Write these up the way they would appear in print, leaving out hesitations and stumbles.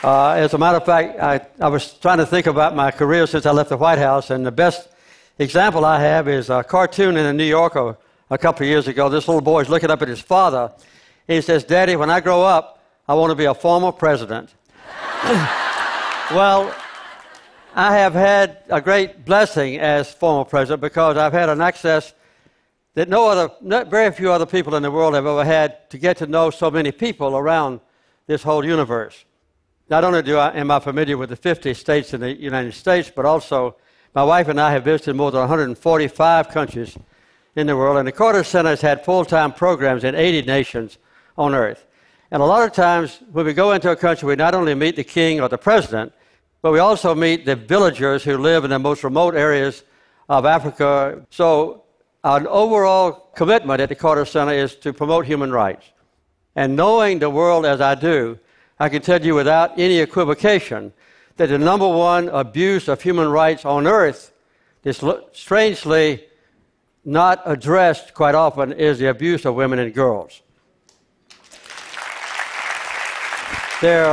As a matter of fact, I was trying to think about my career since I left the White House, and the best example I have is a cartoon in the New Yorker a couple of years ago. This little boy is looking up at his father, and he says, "Daddy, when I grow up, I want to be a former president." Well, I have had a great blessing as former president because I've had an access that very few other people in the world have ever had to get to know so many people around this whole universe. Not only am I familiar with the 50 states in the United States, but also my wife and I have visited more than 145 countries in the world, and the Carter Center has had full-time programs in 80 nations on earth. And a lot of times when we go into a country, we not only meet the king or the president, but we also meet the villagers who live in the most remote areas of Africa. So our overall commitment at the Carter Center is to promote human rights. And knowing the world as I do, I can tell you without any equivocation that the number one abuse of human rights on earth is strangely not addressed quite often is the abuse of women and girls. There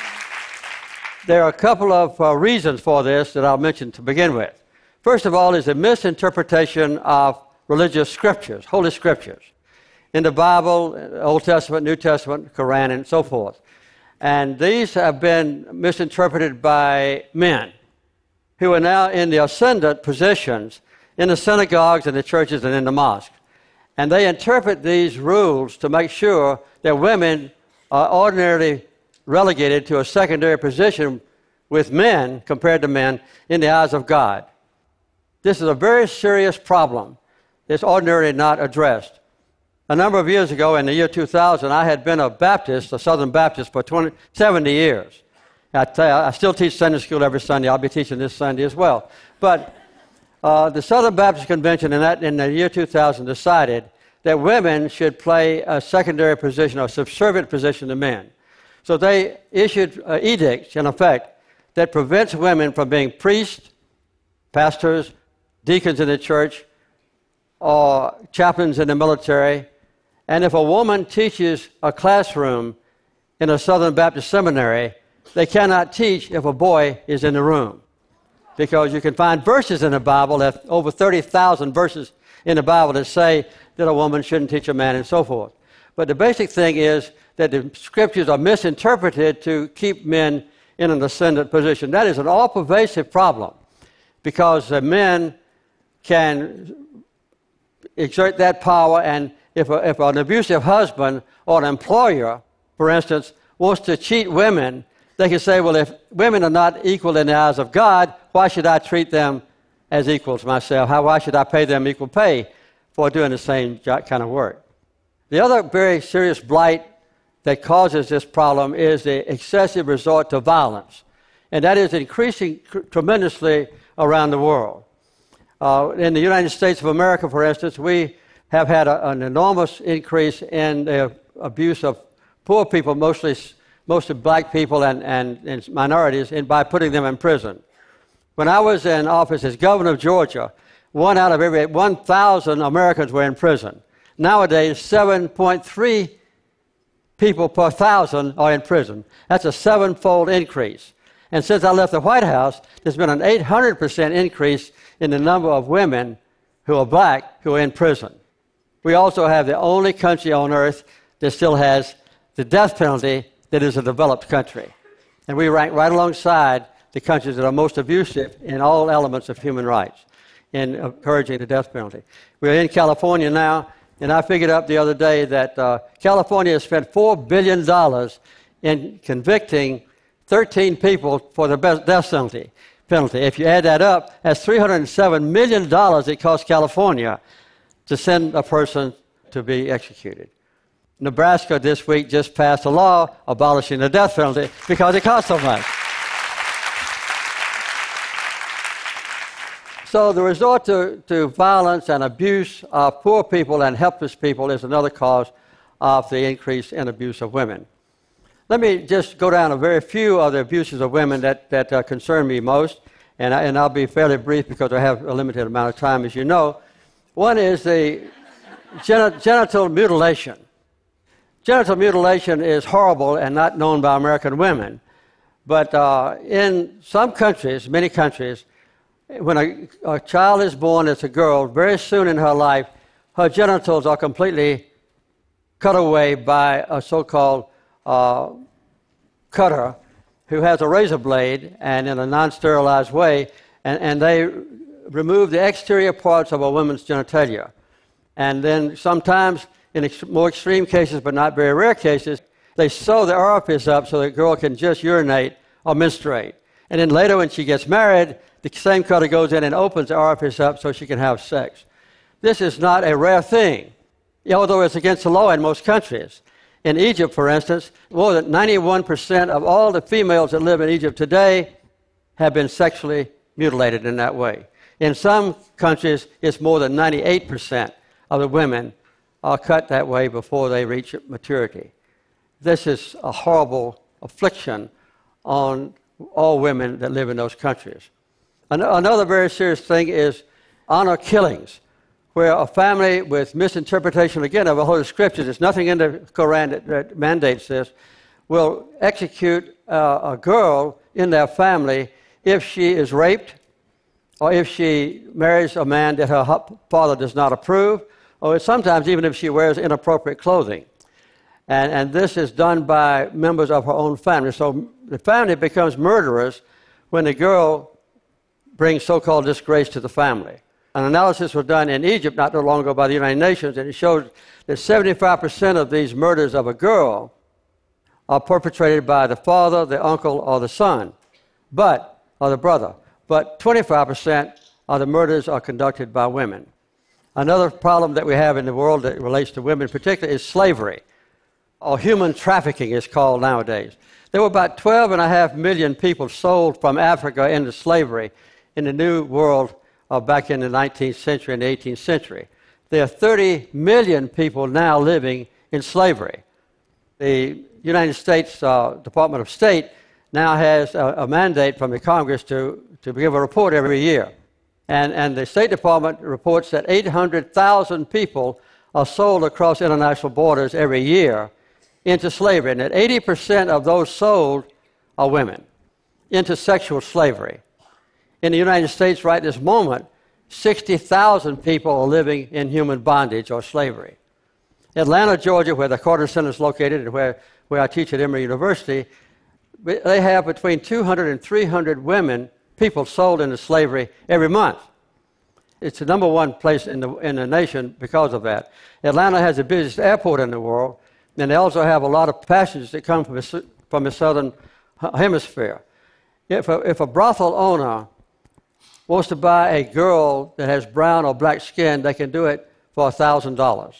are a couple of reasons for this that I'll mention to begin with. First of all is a misinterpretation of religious scriptures, holy scriptures. In the Bible, Old Testament, New Testament, Quran, and so forth. And these have been misinterpreted by men who are now in the ascendant positions in the synagogues and the churches and in the mosques. And they interpret these rules to make sure that women are ordinarily relegated to a secondary position with men compared to men in the eyes of God. This is a very serious problem that's ordinarily not addressed. A number of years ago, in the year 2000, I had been a Baptist, a Southern Baptist, for 70 years. I still teach Sunday school every Sunday. I'll be teaching this Sunday as well. But the Southern Baptist Convention in the year 2000 decided that women should play a secondary position, a subservient position to men. So they issued edicts, in effect, that prevents women from being priests, pastors, deacons in the church, or chaplains in the military. And if a woman teaches a classroom in a Southern Baptist seminary, they cannot teach if a boy is in the room. Because you can find verses in the Bible, over 30,000 verses in the Bible that say that a woman shouldn't teach a man and so forth. But the basic thing is that the scriptures are misinterpreted to keep men in an ascendant position. That is an all-pervasive problem because men can exert that power, and if an abusive husband or an employer, for instance, wants to cheat women, they can say, well, if women are not equal in the eyes of God, why should I treat them as equals myself? Why should I pay them equal pay for doing the same kind of work? The other very serious blight that causes this problem is the excessive resort to violence, and that is increasing tremendously around the world. In the United States of America, for instance, we have had an enormous increase in the abuse of poor people, mostly black people and minorities, by putting them in prison. When I was in office as governor of Georgia, 1 out of every 1,000 Americans were in prison. Nowadays, 7.3 people per 1,000 are in prison. That's a 7-fold increase. And since I left the White House, there's been an 800% increase in the number of women who are black who are in prison. We also have the only country on earth that still has the death penalty that is a developed country. And we rank right alongside the countries that are most abusive in all elements of human rights in encouraging the death penalty. We're in California now, and I figured out the other day that California has spent $4 billion in convicting 13 people for the death penalty. If you add that up, that's $307 million it costs California to send a person to be executed. Nebraska this week just passed a law abolishing the death penalty because it costs so much. So the resort to violence and abuse of poor people and helpless people is another cause of the increase in abuse of women. Let me just go down a very few of the abuses of women that concern me most, and I'll be fairly brief because I have a limited amount of time, as you know. One is the genital mutilation. Genital mutilation is horrible and not known by American women, But in some countries, many countries, when a child is born as a girl, very soon in her life, her genitals are completely cut away by a so-called cutter who has a razor blade and in a non-sterilized way, and they remove the exterior parts of a woman's genitalia. And then sometimes, in more extreme cases, but not very rare cases, they sew the orifice up so the girl can just urinate or menstruate. And then later when she gets married, the same cutter goes in and opens the orifice up so she can have sex. This is not a rare thing, although it's against the law in most countries. In Egypt, for instance, more than 91% of all the females that live in Egypt today have been sexually mutilated in that way. In some countries, it's more than 98% of the women are cut that way before they reach maturity. This is a horrible affliction on all women that live in those countries. Another very serious thing is honor killings, where a family with misinterpretation, again, of the Holy Scriptures, there's nothing in the Quran that mandates this, will execute a girl in their family if she is raped, or if she marries a man that her father does not approve, or sometimes even if she wears inappropriate clothing. And this is done by members of her own family. So the family becomes murderers when the girl brings so-called disgrace to the family. An analysis was done in Egypt not too long ago by the United Nations, and it showed that 75% of these murders of a girl are perpetrated by the father, the uncle, or the son, or the brother. But 25% of the murders are conducted by women. Another problem that we have in the world that relates to women in particular is slavery, or human trafficking is called nowadays. There were about 12.5 million people sold from Africa into slavery in the New World back in the 19th century and the 18th century. There are 30 million people now living in slavery. The United States Department of State now has a mandate from the Congress to give a report every year. And the State Department reports that 800,000 people are sold across international borders every year into slavery, and that 80% of those sold are women into sexual slavery. In the United States right this moment, 60,000 people are living in human bondage or slavery. Atlanta, Georgia, where the Carter Center is located and where I teach at Emory University, they have between 200 and 300 people sold into slavery every month. It's the number one place in the nation because of that. Atlanta has the busiest airport in the world, and they also have a lot of passengers that come from the southern hemisphere. If a brothel owner wants to buy a girl that has brown or black skin, they can do it for $1,000.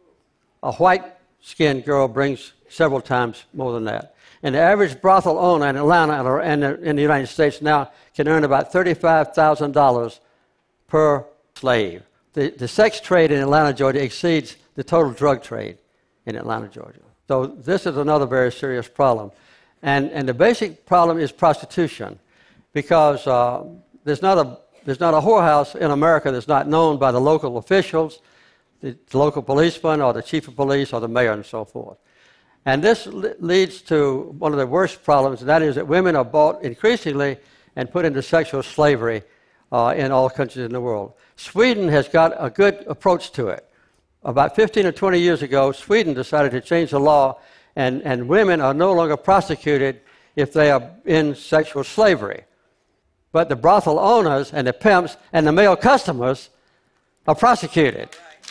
A white-skinned girl brings several times more than that. And the average brothel owner in Atlanta and in the United States now can earn about $35,000 per slave. The sex trade in Atlanta, Georgia exceeds the total drug trade in Atlanta, Georgia. So this is another very serious problem. And the basic problem is prostitution, because there's not a whorehouse in America that's not known by the local officials, the local policeman or the chief of police or the mayor and so forth. And this leads to one of the worst problems, and that is that women are bought increasingly and put into sexual slavery in all countries in the world. Sweden has got a good approach to it. About 15 or 20 years ago, Sweden decided to change the law, and women are no longer prosecuted if they are in sexual slavery. But the brothel owners and the pimps and the male customers are prosecuted.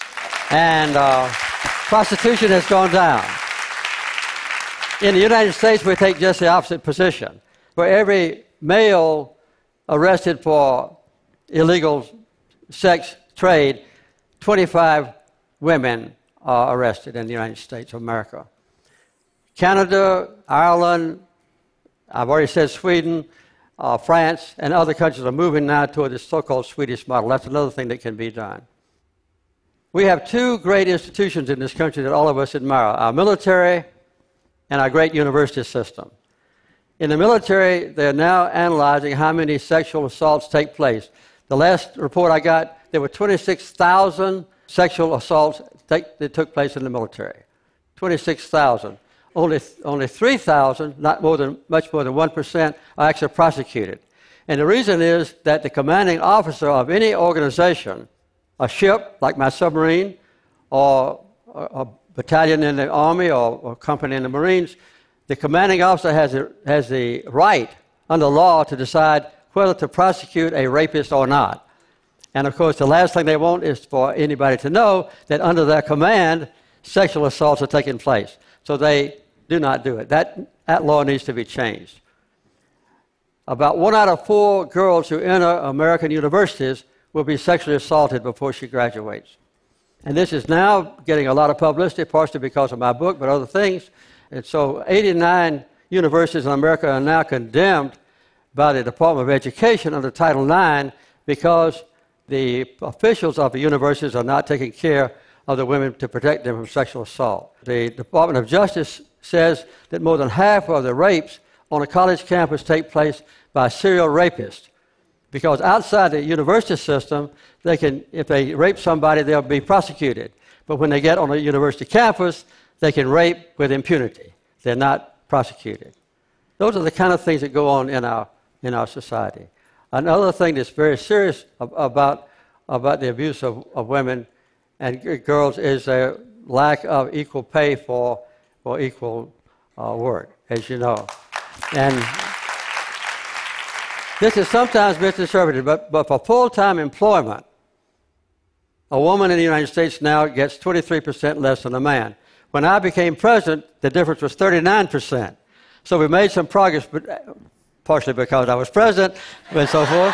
And prostitution has gone down. In the United States, we take just the opposite position. For every male arrested for illegal sex trade, 25 women are arrested in the United States of America. Canada, Ireland, I've already said Sweden, France, and other countries are moving now toward this so-called Swedish model. That's another thing that can be done. We have two great institutions in this country that all of us admire, our military and our great university system. In the military, they're now analyzing how many sexual assaults take place. The last report I got, there were 26,000 sexual assaults that took place in the military. 26,000. only 3,000, much more than 1%, are actually prosecuted. And the reason is that the commanding officer of any organization, a ship like my submarine, or a battalion in the Army, or a company in the Marines, the commanding officer has the right under law to decide whether to prosecute a rapist or not. And of course, the last thing they want is for anybody to know that under their command, sexual assaults are taking place. So they do not do it. That law needs to be changed. About 1 out of 4 girls who enter American universities will be sexually assaulted before she graduates. And this is now getting a lot of publicity, partially because of my book, but other things. And so 89 universities in America are now condemned by the Department of Education under Title IX because the officials of the universities are not taking care of the women to protect them from sexual assault. The Department of Justice says that more than half of the rapes on a college campus take place by serial rapists, because outside the university system, if they rape somebody, they'll be prosecuted. But when they get on a university campus, they can rape with impunity. They're not prosecuted. Those are the kind of things that go on in our society. Another thing that's very serious about the abuse of women and girls is their lack of equal pay for equal work, as you know. And this is sometimes misinterpreted, but for full-time employment, a woman in the United States now gets 23% less than a man. When I became president, the difference was 39%. So we made some progress, but partially because I was president and so forth.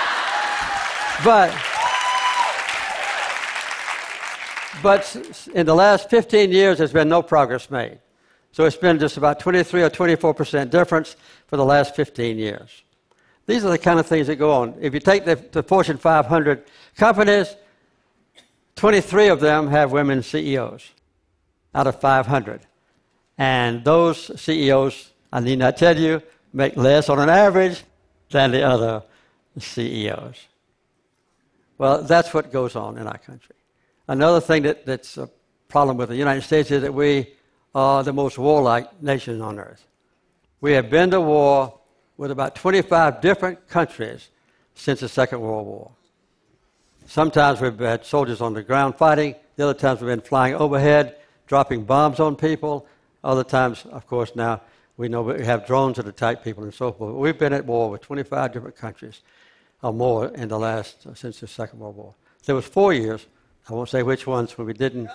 But in the last 15 years, there's been no progress made. So it's been just about 23 or 24% difference for the last 15 years. These are the kind of things that go on. If you take the Fortune 500 companies, 23 of them have women CEOs out of 500. And those CEOs, I need not tell you, make less on an average than the other CEOs. Well, that's what goes on in our country. Another thing that's a problem with the United States is that we are the most warlike nation on earth. We have been to war with about 25 different countries since the Second World War. Sometimes we've had soldiers on the ground fighting. The other times we've been flying overhead, dropping bombs on people. Other times, of course, now we know we have drones that attack people and so forth. We've been at war with 25 different countries or more in the last, since the Second World War. There was 4 years, I won't say which ones, when we didn't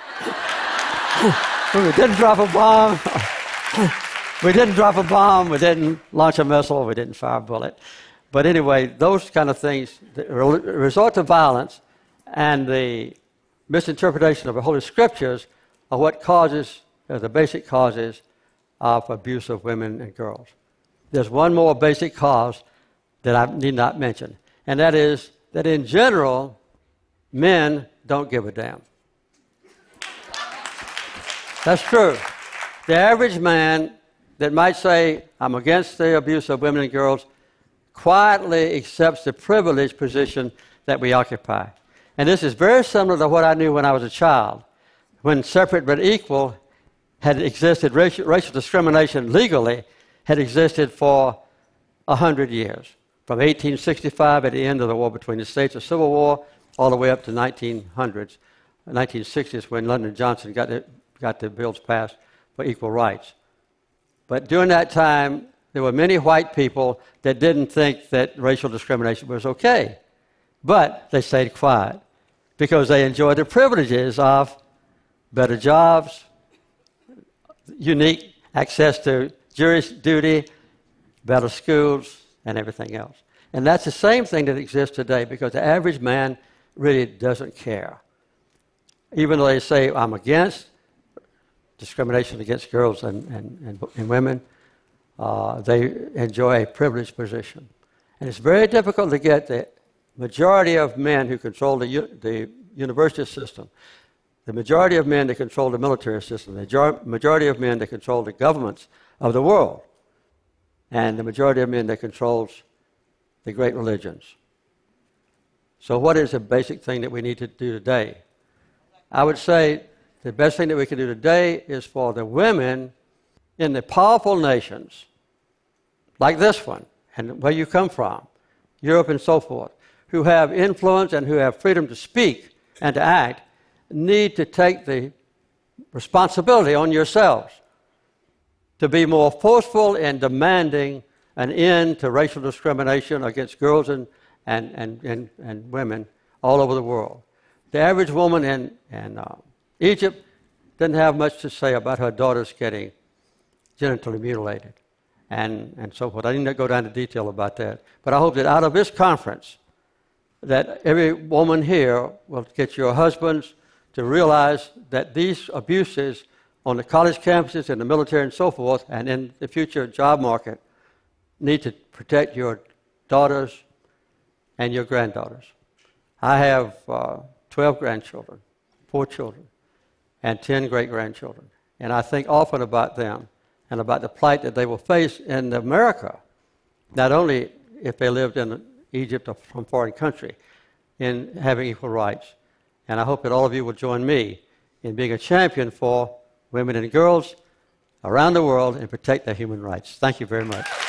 drop a bomb. We didn't drop a bomb, we didn't launch a missile, we didn't fire a bullet. But anyway, those kind of things, the resort to violence and the misinterpretation of the Holy Scriptures are what causes, the basic causes of abuse of women and girls. There's one more basic cause that I need not mention, and that is that in general, men don't give a damn. That's true. The average man that might say, I'm against the abuse of women and girls, quietly accepts the privileged position that we occupy. And this is very similar to what I knew when I was a child, when separate but equal had existed, racial discrimination legally had existed for 100 years, from 1865 at the end of the war between the states, the Civil War, all the way up to 1900s, 1960s, when Lyndon Johnson got the bills passed for equal rights. But during that time, there were many white people that didn't think that racial discrimination was okay. But they stayed quiet because they enjoyed the privileges of better jobs, unique access to jury duty, better schools, and everything else. And that's the same thing that exists today because the average man really doesn't care. Even though they say, I'm against discrimination against girls and women, they enjoy a privileged position. And it's very difficult to get the majority of men who control the university system, the majority of men that control the military system, the majority of men that control the governments of the world, and the majority of men that controls the great religions. So what is the basic thing that we need to do today? I would say the best thing that we can do today is for the women in the powerful nations, like this one, and where you come from, Europe and so forth, who have influence and who have freedom to speak and to act, need to take the responsibility on yourselves to be more forceful in demanding an end to racial discrimination against girls and women all over the world. The average woman in Egypt didn't have much to say about her daughters getting genitally mutilated and so forth. I need not go down to detail about that. But I hope that out of this conference, that every woman here will get your husbands to realize that these abuses on the college campuses, in the military and so forth, and in the future job market, need to protect your daughters and your granddaughters. I have 12 grandchildren, 4 children, and 10 great-grandchildren. And I think often about them and about the plight that they will face in America, not only if they lived in Egypt or some foreign country, in having equal rights. And I hope that all of you will join me in being a champion for women and girls around the world and protect their human rights. Thank you very much.